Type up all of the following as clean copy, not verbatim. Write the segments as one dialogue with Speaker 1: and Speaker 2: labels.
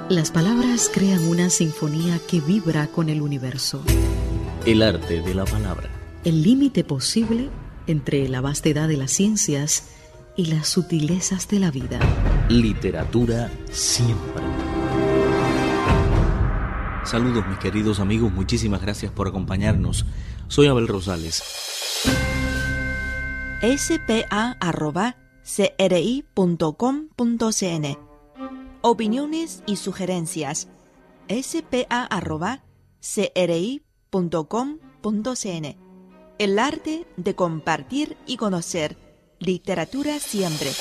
Speaker 1: Las palabras crean una sinfonía que vibra con el universo.
Speaker 2: El arte de la palabra.
Speaker 1: El límite posible entre la vastedad de las ciencias y las sutilezas de la vida.
Speaker 2: Literatura siempre. Saludos mis queridos amigos, muchísimas gracias por acompañarnos. Soy Abel Rosales.
Speaker 3: spa@cri.com.cn. Opiniones y sugerencias. spa@cri.com.cn. El arte de compartir y conocer. Literatura siempre.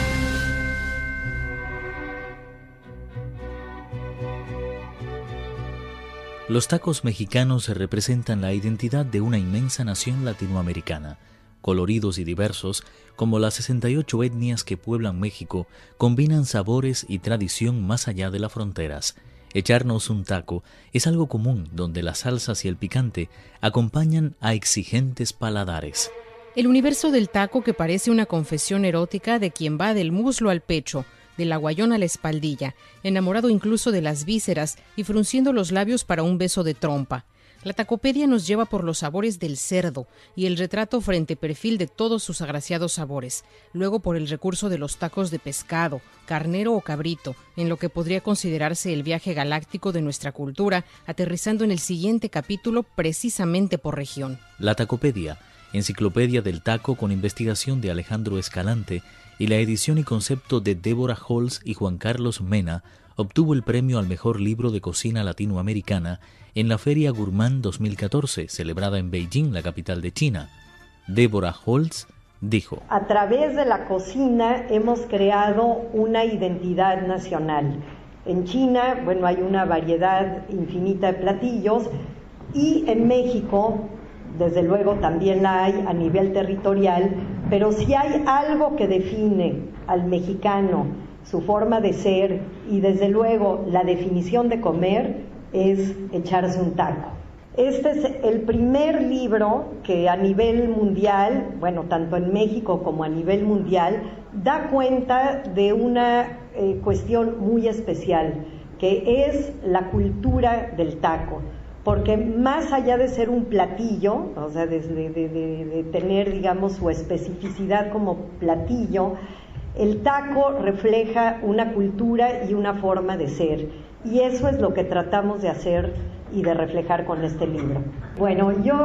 Speaker 2: Los tacos mexicanos representan la identidad de una inmensa nación latinoamericana. Coloridos y diversos, como las 68 etnias que pueblan México, combinan sabores y tradición más allá de las fronteras. Echarnos un taco es algo común donde las salsas y el picante acompañan a exigentes paladares.
Speaker 4: El universo del taco, que parece una confesión erótica de quien va del muslo al pecho, del aguayón a la espaldilla, enamorado incluso de las vísceras y frunciendo los labios para un beso de trompa. La tacopedia nos lleva por los sabores del cerdo y el retrato frente perfil de todos sus agraciados sabores, luego por el recurso de los tacos de pescado, carnero o cabrito, en lo que podría considerarse el viaje galáctico de nuestra cultura, aterrizando en el siguiente capítulo precisamente por región.
Speaker 2: La tacopedia, enciclopedia del taco con investigación de Alejandro Escalante y la edición y concepto de Deborah Holz y Juan Carlos Mena, obtuvo el premio al mejor libro de cocina latinoamericana en la Feria Gourmand 2014, celebrada en Beijing, la capital de China. Deborah Holz dijo:
Speaker 5: a través de la cocina hemos creado una identidad nacional. En China, hay una variedad infinita de platillos, y en México, desde luego, también la hay a nivel territorial, pero si hay algo que define al mexicano, su forma de ser y desde luego la definición de comer, es echarse un taco. Este es el primer libro que a nivel mundial, tanto en México como a nivel mundial, da cuenta de una cuestión muy especial, que es la cultura del taco. Porque más allá de ser un platillo, de tener, su especificidad como platillo, el taco refleja una cultura y una forma de ser. Y eso es lo que tratamos de hacer y de reflejar con este libro. Yo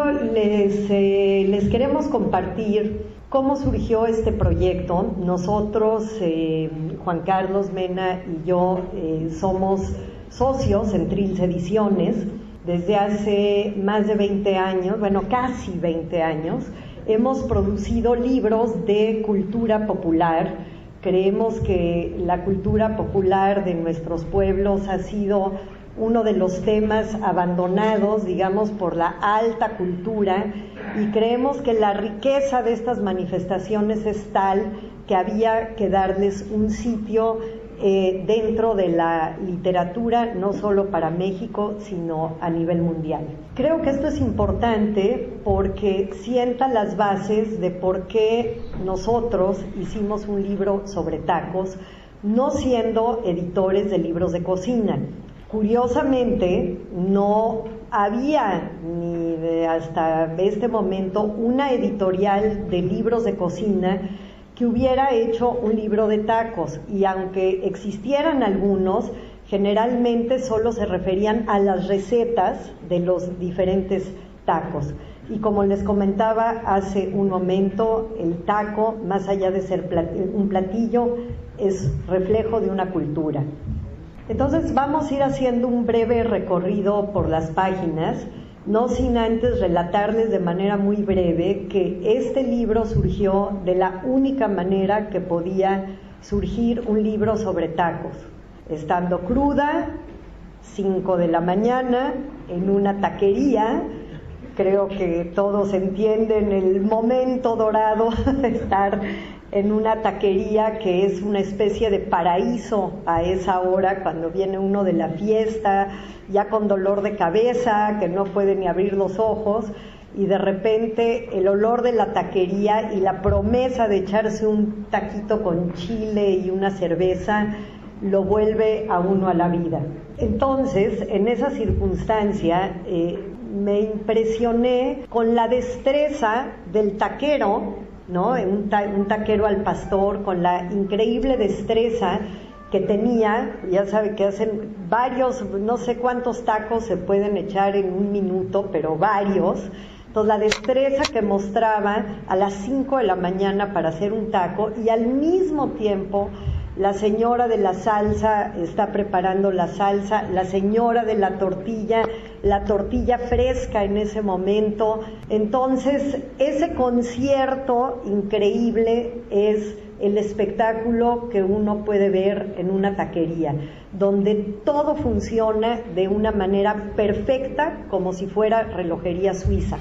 Speaker 5: les queremos compartir cómo surgió este proyecto. Nosotros, Juan Carlos Mena y yo, somos socios en Trilce Ediciones. Desde hace más de 20 años, casi 20 años, hemos producido libros de cultura popular. Creemos que la cultura popular de nuestros pueblos ha sido uno de los temas abandonados, por la alta cultura, y creemos que la riqueza de estas manifestaciones es tal que había que darles un sitio dentro de la literatura, no solo para México, sino a nivel mundial. Creo que esto es importante porque sienta las bases de por qué nosotros hicimos un libro sobre tacos, no siendo editores de libros de cocina. Curiosamente, no había hasta este momento una editorial de libros de cocina que hubiera hecho un libro de tacos, y aunque existieran algunos, generalmente solo se referían a las recetas de los diferentes tacos. Y como les comentaba hace un momento, el taco, más allá de ser un platillo, es reflejo de una cultura. Entonces vamos a ir haciendo un breve recorrido por las páginas, no sin antes relatarles de manera muy breve que este libro surgió de la única manera que podía surgir un libro sobre tacos. Estando cruda, 5 de la mañana, en una taquería. Creo que todos entienden el momento dorado de estar en una taquería, que es una especie de paraíso a esa hora, cuando viene uno de la fiesta, ya con dolor de cabeza, que no puede ni abrir los ojos, y de repente el olor de la taquería y la promesa de echarse un taquito con chile y una cerveza lo vuelve a uno a la vida. Entonces, en esa circunstancia, me impresioné con la destreza del taquero, ¿no? Un taquero al pastor, con la increíble destreza que tenía. Ya sabe que hacen varios, no sé cuántos tacos se pueden echar en un minuto, pero varios. Entonces, la destreza que mostraba a las 5 de la mañana para hacer un taco, y al mismo tiempo la señora de la salsa está preparando la salsa, la señora de la tortilla fresca en ese momento. Entonces, ese concierto increíble es el espectáculo que uno puede ver en una taquería, donde todo funciona de una manera perfecta, como si fuera relojería suiza.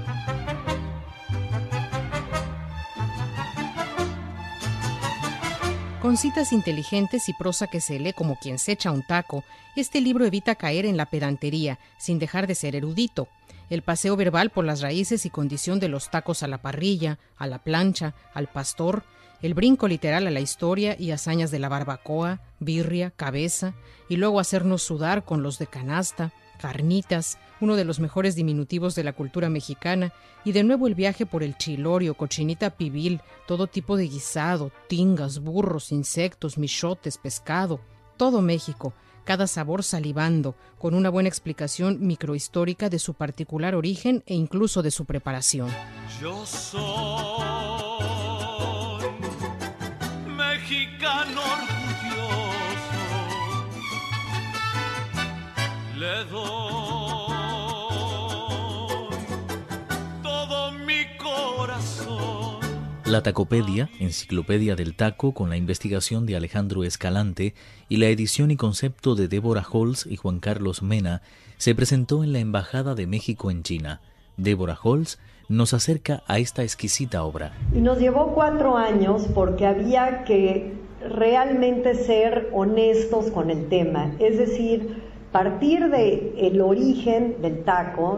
Speaker 4: Con citas inteligentes y prosa que se lee como quien se echa un taco, este libro evita caer en la pedantería, sin dejar de ser erudito. El paseo verbal por las raíces y condición de los tacos a la parrilla, a la plancha, al pastor, el brinco literal a la historia y hazañas de la barbacoa, birria, cabeza, y luego hacernos sudar con los de canasta, carnitas, uno de los mejores diminutivos de la cultura mexicana, y de nuevo el viaje por el chilorio, cochinita pibil, todo tipo de guisado, tingas, burros, insectos, michotes, pescado, todo México, cada sabor salivando, con una buena explicación microhistórica de su particular origen e incluso de su preparación.
Speaker 6: Yo soy mexicano orgulloso, le doy todo mi corazón.
Speaker 2: La Tacopedia, enciclopedia del taco, con la investigación de Alejandro Escalante y la edición y concepto de Débora Holz y Juan Carlos Mena, se presentó en la Embajada de México en China. Débora Holz nos acerca a esta exquisita obra.
Speaker 5: Y nos llevó 4 años porque había que realmente ser honestos con el tema, es decir, partir del origen del taco,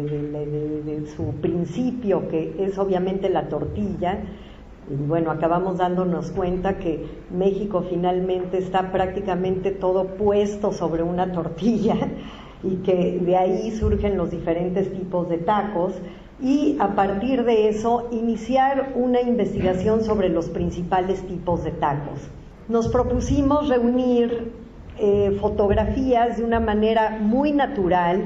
Speaker 5: de su principio, que es obviamente la tortilla. Y bueno, acabamos dándonos cuenta que México finalmente está prácticamente todo puesto sobre una tortilla y que de ahí surgen los diferentes tipos de tacos, y a partir de eso iniciar una investigación sobre los principales tipos de tacos. Nos propusimos reunir fotografías de una manera muy natural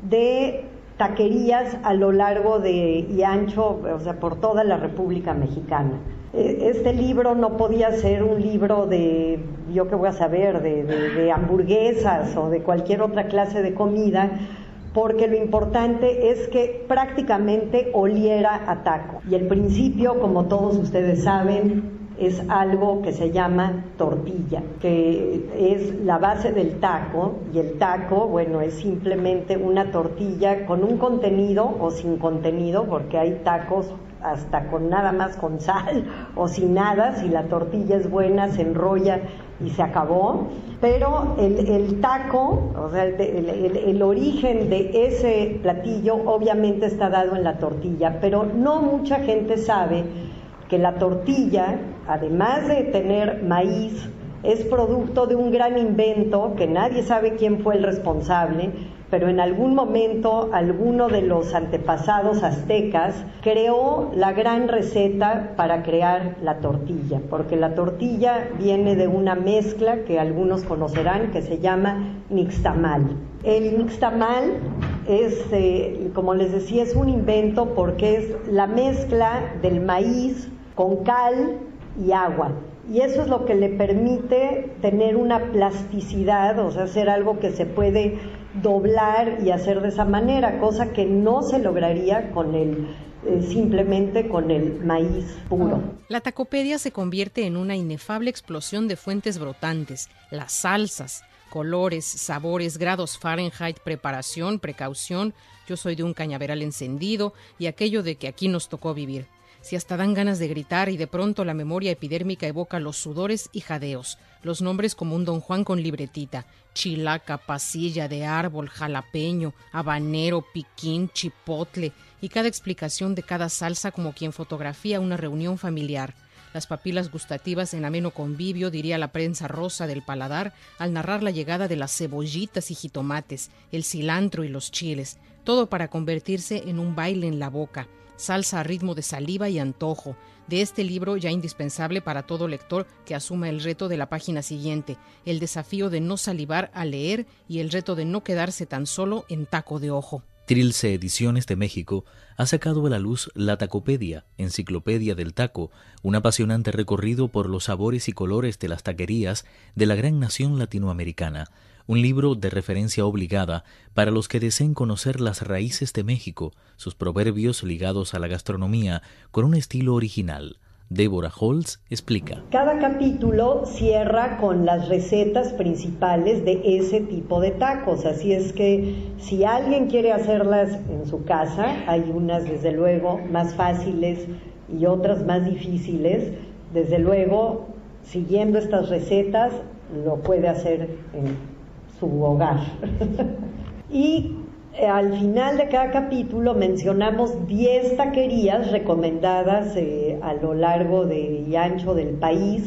Speaker 5: de taquerías a lo largo y ancho, o sea, por toda la República Mexicana. Este libro no podía ser un libro de, yo qué voy a saber, de hamburguesas o de cualquier otra clase de comida, porque lo importante es que prácticamente oliera a taco. Y el principio, como todos ustedes saben, es algo que se llama tortilla, que es la base del taco, y el taco, bueno, es simplemente una tortilla con un contenido o sin contenido, porque hay tacos hasta con nada más con sal o sin nada. Si la tortilla es buena, se enrolla y se acabó. Pero el taco, o sea, el origen de ese platillo obviamente está dado en la tortilla, pero no mucha gente sabe que la tortilla, además de tener maíz, es producto de un gran invento que nadie sabe quién fue el responsable, pero en algún momento alguno de los antepasados aztecas creó la gran receta para crear la tortilla, porque la tortilla viene de una mezcla que algunos conocerán que se llama nixtamal. El nixtamal es, como les decía, es un invento porque es la mezcla del maíz con cal y agua. Y eso es lo que le permite tener una plasticidad, o sea, hacer algo que se puede doblar y hacer de esa manera, cosa que no se lograría con simplemente con el maíz puro.
Speaker 4: La tacopedia se convierte en una inefable explosión de fuentes brotantes, las salsas, colores, sabores, grados Fahrenheit, preparación, precaución, yo soy de un cañaveral encendido y aquello de que aquí nos tocó vivir. Si hasta dan ganas de gritar y de pronto la memoria epidérmica evoca los sudores y jadeos, los nombres como un Don Juan con libretita, chilaca, pasilla de árbol, jalapeño, habanero, piquín, chipotle, y cada explicación de cada salsa como quien fotografía una reunión familiar. las papilas gustativas en ameno convivio, diría la prensa rosa del paladar, al narrar la llegada de las cebollitas y jitomates, el cilantro y los chiles, todo para convertirse en un baile en la boca, salsa a ritmo de saliva y antojo. De este libro, ya indispensable para todo lector que asuma el reto de la página siguiente, el desafío de no salivar al leer y el reto de no quedarse tan solo en taco de ojo.
Speaker 2: Trilce Ediciones de México ha sacado a la luz la Tacopedia, Enciclopedia del Taco, un apasionante recorrido por los sabores y colores de las taquerías de la gran nación latinoamericana. Un libro de referencia obligada para los que deseen conocer las raíces de México, sus proverbios ligados a la gastronomía con un estilo original. Débora Holtz explica.
Speaker 5: Cada capítulo cierra con las recetas principales de ese tipo de tacos, así es que si alguien quiere hacerlas en su casa, hay unas desde luego más fáciles y otras más difíciles, desde luego siguiendo estas recetas lo puede hacer en su hogar. Y al final de cada capítulo mencionamos 10 taquerías recomendadas a lo largo y ancho del país,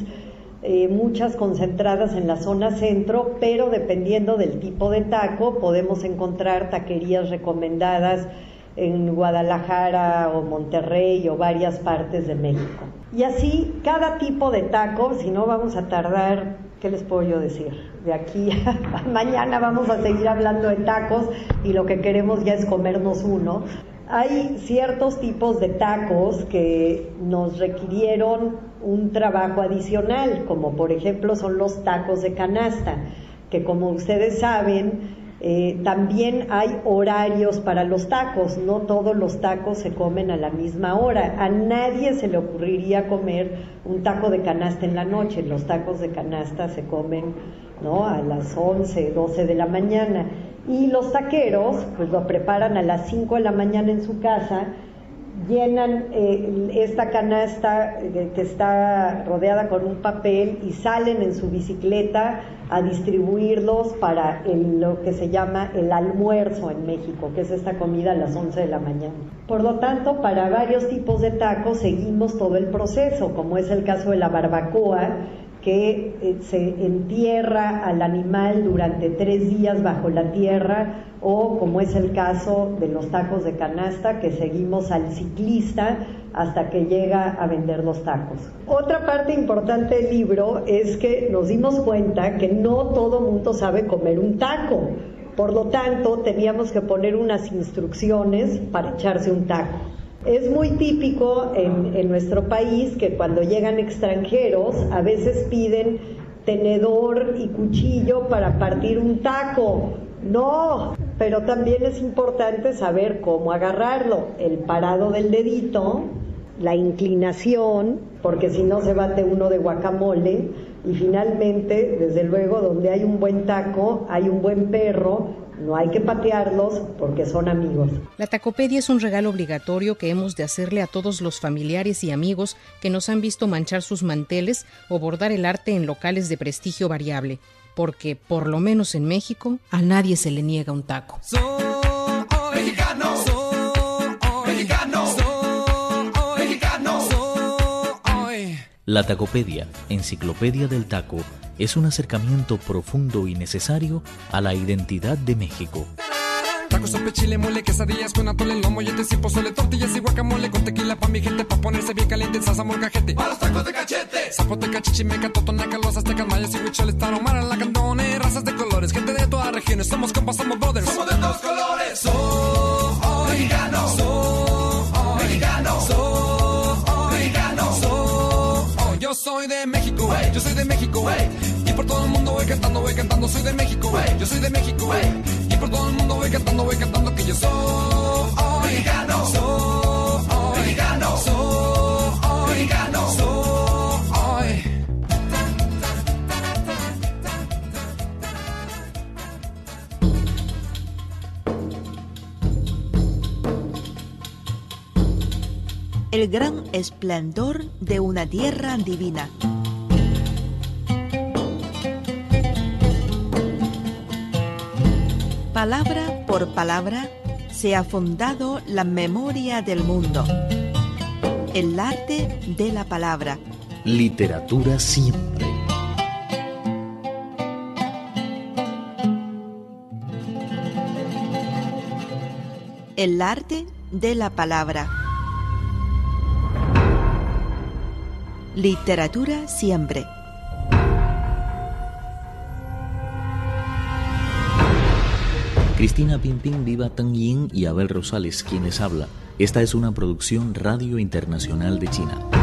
Speaker 5: muchas concentradas en la zona centro, pero dependiendo del tipo de taco podemos encontrar taquerías recomendadas en Guadalajara o Monterrey o varias partes de México. Y así cada tipo de taco, si no vamos a tardar, ¿qué les puedo yo decir? De aquí a mañana vamos a seguir hablando de tacos y lo que queremos ya es comernos uno. Hay ciertos tipos de tacos que nos requirieron un trabajo adicional, como por ejemplo son los tacos de canasta, que como ustedes saben, también hay horarios para los tacos, no todos los tacos se comen a la misma hora. A nadie se le ocurriría comer un taco de canasta en la noche. Los tacos de canasta se comen, ¿no?, a las 11, 12 de la mañana. Y los taqueros pues lo preparan a las 5 de la mañana en su casa, llenan esta canasta que está rodeada con un papel y salen en su bicicleta a distribuirlos para lo que se llama el almuerzo en México, que es esta comida a las 11 de la mañana. Por lo tanto, para varios tipos de tacos seguimos todo el proceso, como es el caso de la barbacoa, que se entierra al animal durante 3 días bajo la tierra, o como es el caso de los tacos de canasta, que seguimos al ciclista hasta que llega a vender los tacos. Otra parte importante del libro es que nos dimos cuenta que no todo mundo sabe comer un taco, por lo tanto teníamos que poner unas instrucciones para echarse un taco. Es muy típico en nuestro país que cuando llegan extranjeros a veces piden tenedor y cuchillo para partir un taco. No, pero también es importante saber cómo agarrarlo, el parado del dedito, la inclinación, porque si no se bate uno de guacamole, y finalmente, desde luego, donde hay un buen taco, hay un buen perro. No hay que patearlos porque son amigos.
Speaker 4: La Tacopedia es un regalo obligatorio que hemos de hacerle a todos los familiares y amigos que nos han visto manchar sus manteles o bordar el arte en locales de prestigio variable, porque, por lo menos en México, a nadie se le niega un taco.
Speaker 7: Soy mexicano, soy mexicano, soy mexicano, soy.
Speaker 2: La Tacopedia, Enciclopedia del Taco, es un acercamiento profundo y necesario a la identidad de México.
Speaker 7: Tacos, sope, chile, mole, quesadillas con atole, lomo, molletes y pozole, tortillas y guacamole, con tequila pa' mi gente, pa' ponerse bien caliente en salsa molcajete. ¡Para los tacos de cachete! Zapoteca, chichimeca, totonaca, los aztecas, mayas y huicholes, tarahumara, lacandone, razas de colores, gente de todas regiones, somos compas, somos brothers. Somos de todos colores. Soy mexicano, soy mexicano, soy mexicano, soy. Yo soy de México, wey. Yo soy de México, wey. Y por todo el mundo voy cantando, soy de México, wey. Yo soy de México, wey. Y por todo el mundo voy cantando que yo soy mexicano, soy mexicano, soy mexicano, soy.
Speaker 3: El gran esplendor de una tierra divina. Palabra por palabra se ha fundado la memoria del mundo. El arte de la palabra,
Speaker 2: Literatura siempre.
Speaker 3: El arte de la palabra. Literatura siempre.
Speaker 2: Cristina Pimpín, Viva Teng Yin y Abel Rosales, quienes habla. Esta es una producción Radio Internacional de China.